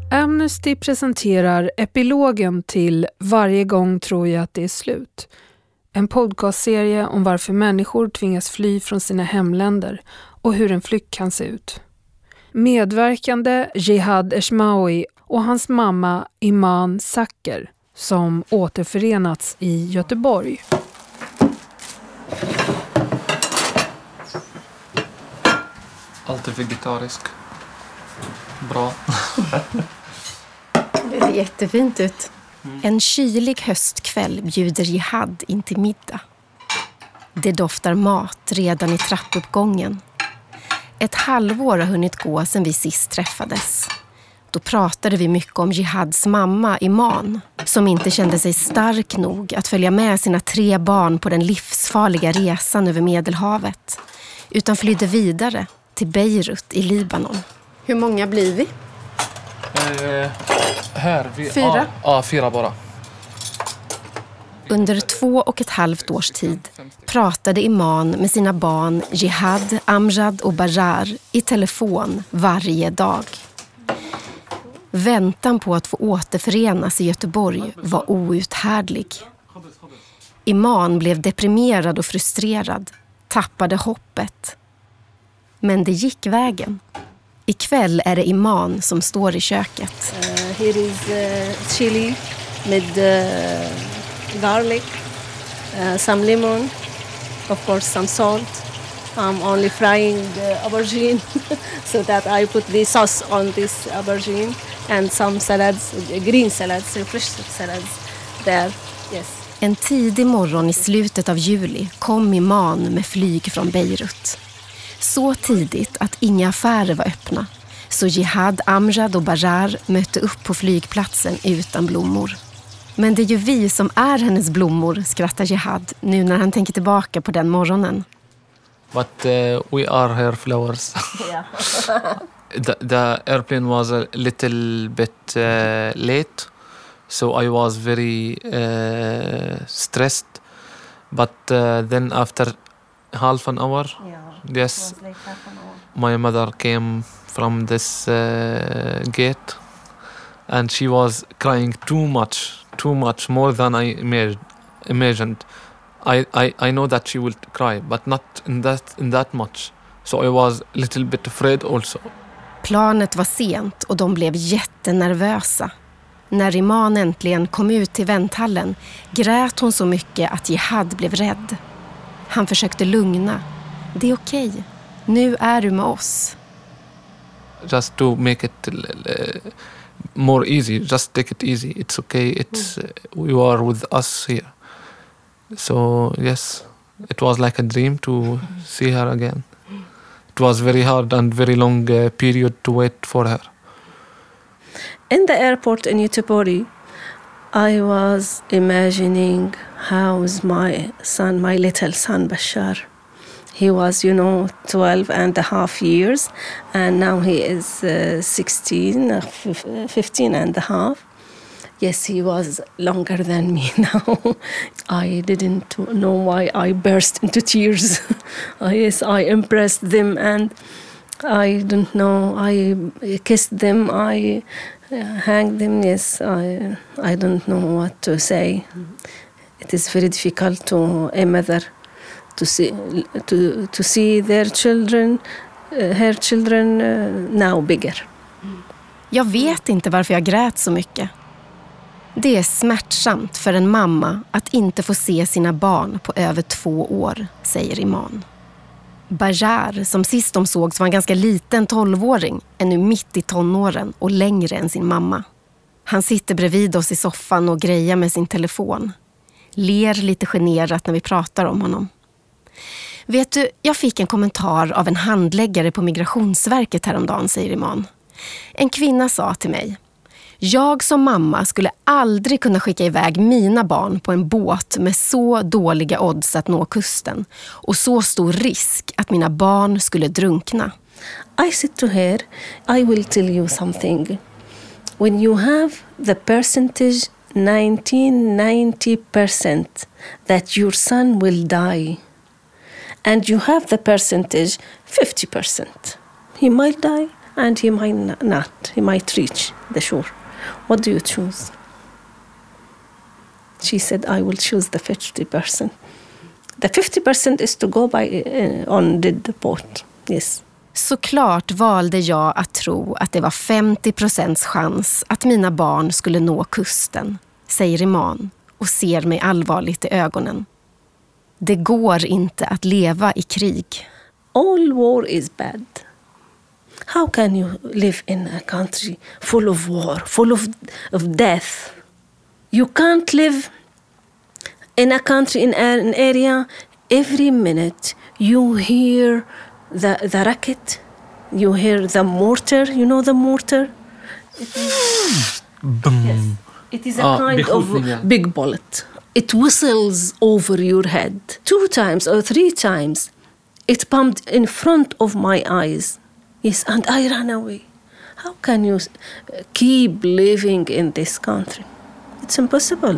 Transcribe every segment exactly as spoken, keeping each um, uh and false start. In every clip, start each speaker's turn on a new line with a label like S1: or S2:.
S1: Amnesty presenterar epilogen till Varje gång tror jag att det är slut. En podcastserie om varför människor tvingas fly från sina hemländer och hur en flykt kan se ut. Medverkande Jihad Eshmawi och hans mamma Iman Sacker som återförenats i Göteborg.
S2: Alltid vegetarisk. Bra.
S3: Det ser jättefint ut. Mm. En kylig höstkväll bjuder Jihad in till middag. Det doftar mat redan i trappuppgången. Ett halvår har hunnit gå sedan vi sist träffades. Då pratade vi mycket om Jihads mamma Iman, som inte kände sig stark nog att följa med sina tre barn på den livsfarliga resan över Medelhavet, utan flydde vidare till Beirut i Libanon. Hur många blir vi?
S2: Eh, här. Vi,
S3: fyra?
S2: Ja, ah, ah, fyra bara.
S3: Under två och ett halvt års tid pratade Iman med sina barn Jihad, Amjad och Bajar i telefon varje dag. Väntan på att få återförenas i Göteborg var outhärdlig. Iman blev deprimerad och frustrerad, tappade hoppet. Men det gick vägen. Ikväll är det Iman som står i köket.
S4: Uh, here is uh, chili with uh, garlic, uh, some lemon, of course some salt. I'm only frying the aubergine so that I put the sauce on this aubergine and some salads, green salads, fresh salads there. Yes.
S3: En tidig morgon i slutet av juli kom Iman med flyg från Beirut. Så tidigt att inga affärer var öppna. Så Jihad, Amjad och Bajar mötte upp på flygplatsen utan blommor. Men det är ju vi som är hennes blommor, skrattar Jihad nu när han tänker tillbaka på den morgonen.
S2: But uh, we are her flowers.
S4: Yeah.
S2: the, the airplane was a little bit uh, late, so I was very uh, stressed. But uh, then after half an hour,
S4: Yeah.
S2: yes,
S4: It was like half an hour.
S2: my mother came from this uh, gate, and she was crying too much, too much, more than I imag- imagined. I, I, I know that she will cry, but not in that in that much. So I was a little bit afraid also.
S3: Planet var sent och de blev jättenervösa. När Iman äntligen kom ut till vänthallen grät hon så mycket att Jihad blev rädd. Han försökte lugna. Det är okej. Nu är du med oss.
S2: Just to make it uh, more easy, just take it easy. It's okay. It's uh, you are with us here. So yes, it was like a dream to see her again. It was very hard and very long uh, period to wait for her.
S4: In the airport in Göteborg, I was imagining how's my son, my little son Bashar. He was, you know, twelve and a half years, and now he is uh, sixteen, uh, fifteen and a half. Yes, he was longer than me now. I didn't know why I burst into tears. Yes, I impressed them, and I don't know, I kissed them, I uh, hanged them. Yes, I, I don't know what to say. It is very difficult to a mother to see to to see their children, uh, her children uh, now bigger.
S3: Jag vet inte varför jag grät så mycket. Det är smärtsamt för en mamma att inte få se sina barn på över två år, säger Iman. Bajar, som sist de sågs var en ganska liten tolvåring, är nu mitt i tonåren och längre än sin mamma. Han sitter bredvid oss i soffan och grejar med sin telefon. Ler lite generat när vi pratar om honom. Vet du, jag fick en kommentar av en handläggare på Migrationsverket häromdagen, säger Iman. En kvinna sa till mig: jag som mamma skulle aldrig kunna skicka iväg mina barn på en båt med så dåliga odds att nå kusten och så stor risk att mina barn skulle drunkna.
S4: I said to her, I will tell you something. When you have the percentage nineteen ninety percent that your son will die, and you have the percentage fifty percent, he might die and he might not. He might reach the shore. What do you choose? She said, I will choose the fifty percent. The fifty percent is to go by uh, on the boat. Yes.
S3: Såklart valde jag att tro att det var femtio procents chans att mina barn skulle nå kusten, säger Iman och ser mig allvarligt i ögonen. Det går inte att leva i krig.
S4: All war is bad. How can you live in a country full of war, full of, of death? You can't live in a country, in an area, every minute you hear the, the rocket, you hear the mortar, you know the mortar? It is, yes, it is a
S2: Ah,
S4: kind of
S2: yeah.
S4: big bullet. It whistles over your head two times or three times. It pumped in front of my eyes. Yes, and I ran away. How can you keep living in this country? It's impossible.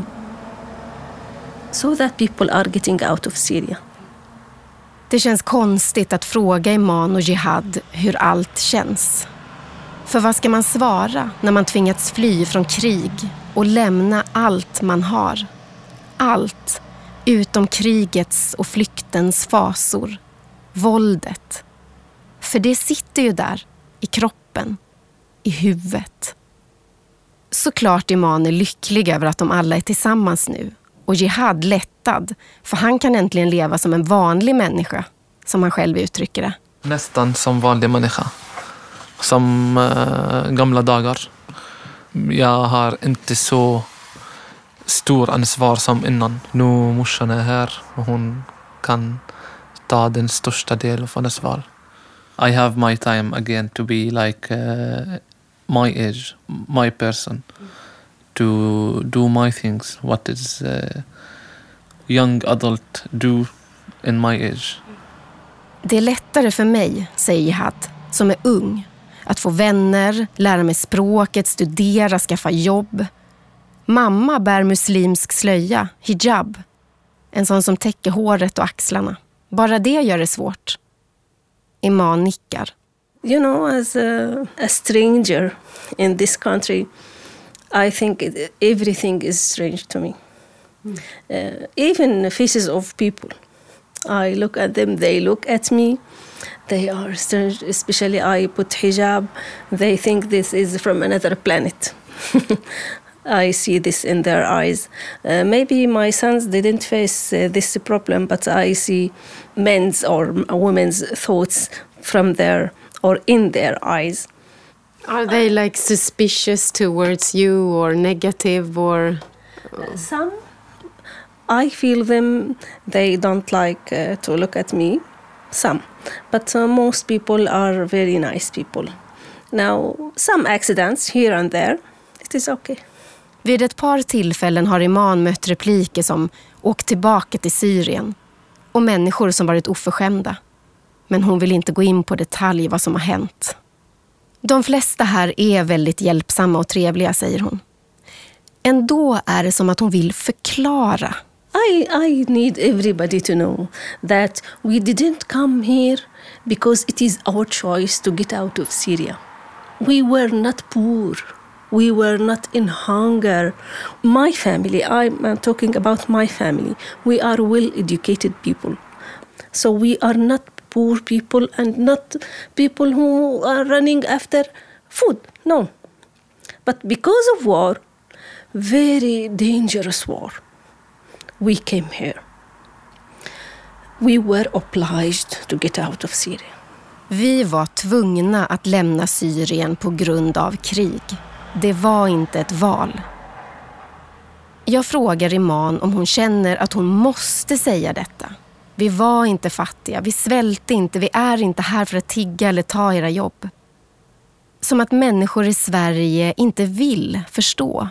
S4: So that people are getting out of Syria.
S3: Det känns konstigt att fråga Iman och Jihad hur allt känns. För vad ska man svara när man tvingats fly från krig och lämna allt man har? Allt utom krigets och flyktens fasor. Våldet. För det sitter ju där, i kroppen, i huvudet. Såklart Iman är lycklig över att de alla är tillsammans nu. Och Jihad lättad, för han kan äntligen leva som en vanlig människa, som han själv uttrycker det.
S2: Nästan som vanlig människa. Som uh, gamla dagar. Jag har inte så stor ansvar som innan. Nu morsan är här och hon kan ta den största delen av ansvar. I have my time again to be like uh, my age, my person. To do my things, what is uh, young adult do in my age.
S3: Det är lättare för mig, säger Jihad, som är ung, att få vänner, lära mig språket, studera, skaffa jobb. Mamma bär muslimsk slöja, hijab, en sån som täcker håret och axlarna. Bara det gör det svårt. Iman nickar.
S4: You know, as a, a stranger in this country, I think it, everything is strange to me. Mm. Uh, even the faces of people. I look at them, they look at me. They are strange, especially I put hijab. They think this is from another planet. I see this in their eyes. Uh, maybe my sons didn't face uh, this problem, but I see men's or women's thoughts from their or in their eyes.
S5: Are they like suspicious towards you or negative or?
S4: Uh, some, I feel them, they don't like uh, to look at me. Some, but uh, most people are very nice people. Now, some accidents here and there, it is okay.
S3: Vid ett par tillfällen har Iman mött repliker som åkt tillbaka till Syrien och människor som varit oförskämda. Men hon vill inte gå in på detalj vad som har hänt. De flesta här är väldigt hjälpsamma och trevliga, säger hon. Ändå är det som att hon vill förklara.
S4: I, I need everybody to know that we didn't come here because it is our choice to get out of Syria. We were not poor. We were not in hunger. My family, I'm talking about my family, we are well-educated people. So we are not poor people and not people who are running after food. No. But because of war, very dangerous war, we came here. We were obliged to get out of Syria.
S3: Vi var tvungna att lämna Syrien på grund av krig. Det var inte ett val. Jag frågar Iman om hon känner att hon måste säga detta. Vi var inte fattiga, vi svälte inte, vi är inte här för att tigga eller ta era jobb. Som att människor i Sverige inte vill förstå.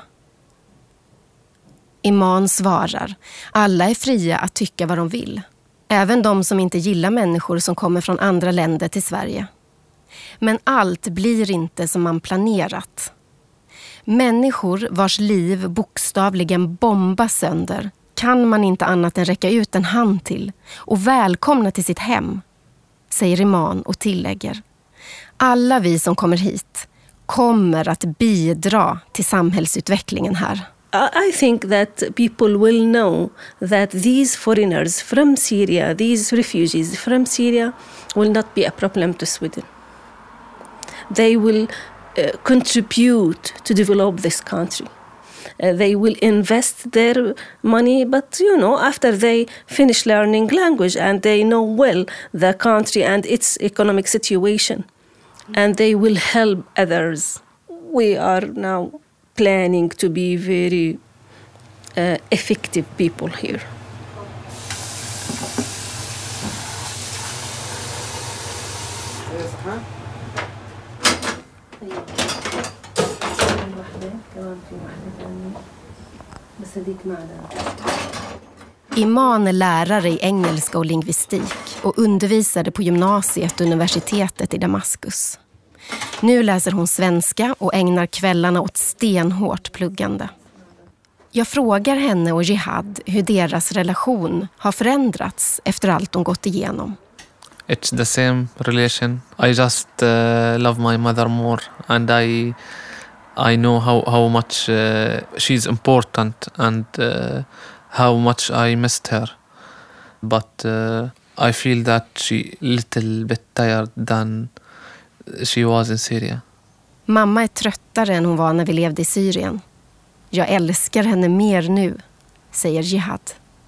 S3: Iman svarar, alla är fria att tycka vad de vill. Även de som inte gillar människor som kommer från andra länder till Sverige. Men allt blir inte som man planerat. Människor vars liv bokstavligen bombas sönder kan man inte annat än räcka ut en hand till och välkomna till sitt hem, säger Iman och tillägger. Alla vi som kommer hit kommer att bidra till samhällsutvecklingen här.
S4: I think that people will know that these foreigners from Syria, these refugees from Syria, will not be a problem to Sweden. They will uh, contribute to develop this country. Uh, they will invest their money, but you know, after they finish learning language and they know well the country and its economic situation, and they will help others. We are now planning to be very uh, effective people here.
S3: Iman är lärare i engelska och lingvistik och undervisade på gymnasiet och universitetet i Damaskus. Nu läser hon svenska och ägnar kvällarna åt stenhårt pluggande. Jag frågar henne och Jihad hur deras relation har förändrats efter allt de gått igenom.
S2: It's the same relation. I just uh, love my mother more, and I I know how how much uh, she's important and uh, how much I missed her. But uh, I feel that she little bit tired than she was in Syria.
S3: Mamma är tröttare än hon var när vi levde i Syrien. Jag älskar henne mer nu, säger Jihad.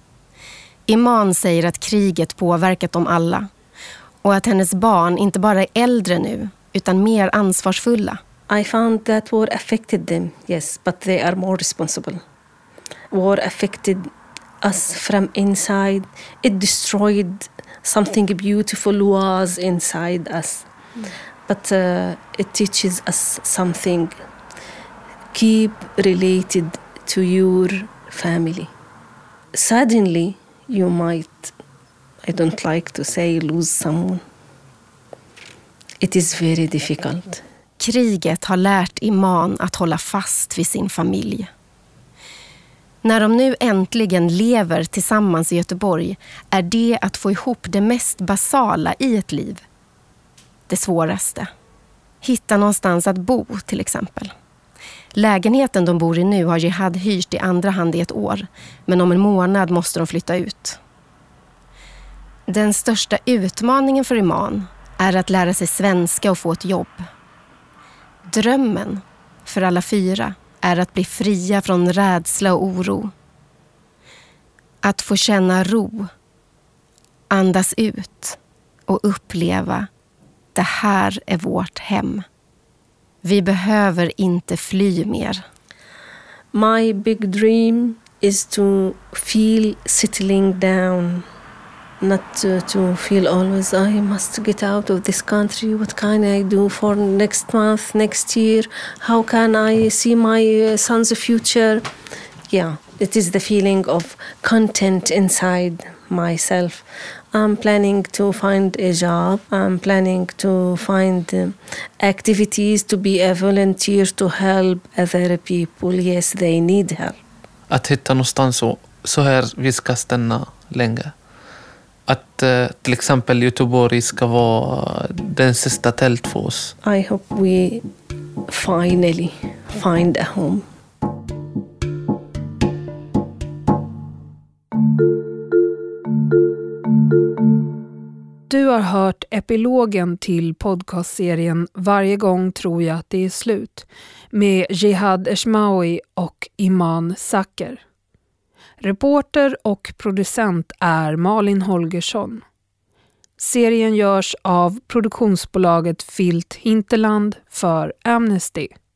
S3: Iman säger att kriget påverkat dem alla och att hennes barn inte bara är äldre nu utan mer ansvarsfulla.
S4: I found that war affected them, yes, but they are more responsible. War affected us from inside. It destroyed something beautiful was inside us. Mm. But uh, it teaches us something. Keep related to your family. Suddenly, you might, I don't like to say, lose someone. It is very difficult.
S3: Kriget har lärt Iman att hålla fast vid sin familj. När de nu äntligen lever tillsammans i Göteborg är det att få ihop det mest basala i ett liv. Det svåraste. Hitta någonstans att bo till exempel. Lägenheten de bor i nu har Jihad hyrt i andra hand i ett år, men om en månad måste de flytta ut. Den största utmaningen för Iman är att lära sig svenska och få ett jobb. Drömmen för alla fyra är att bli fria från rädsla och oro. Att få känna ro, andas ut och uppleva det här är vårt hem. Vi behöver inte fly mer.
S4: My big dream is to feel settling down. Not to, to feel always, I must get out of this country. What can I do for next month, next year? How can I see my son's future? Yeah, it is the feeling of content inside myself. I'm planning to find a job. I'm planning to find uh, activities to be a volunteer to help other people. Yes, they need help.
S2: Att hitta någonstans så, så här vi ska stanna länge. Att uh, till exempel Göteborg ska vara den sista tält för oss.
S4: I hope we finally find a home.
S1: Du har hört epilogen till podcastserien Varje gång tror jag att det är slut med Jihad Eshmawi och Iman Sacker. Reporter och producent är Malin Holgersson. Serien görs av produktionsbolaget Filt Hinterland för Amnesty.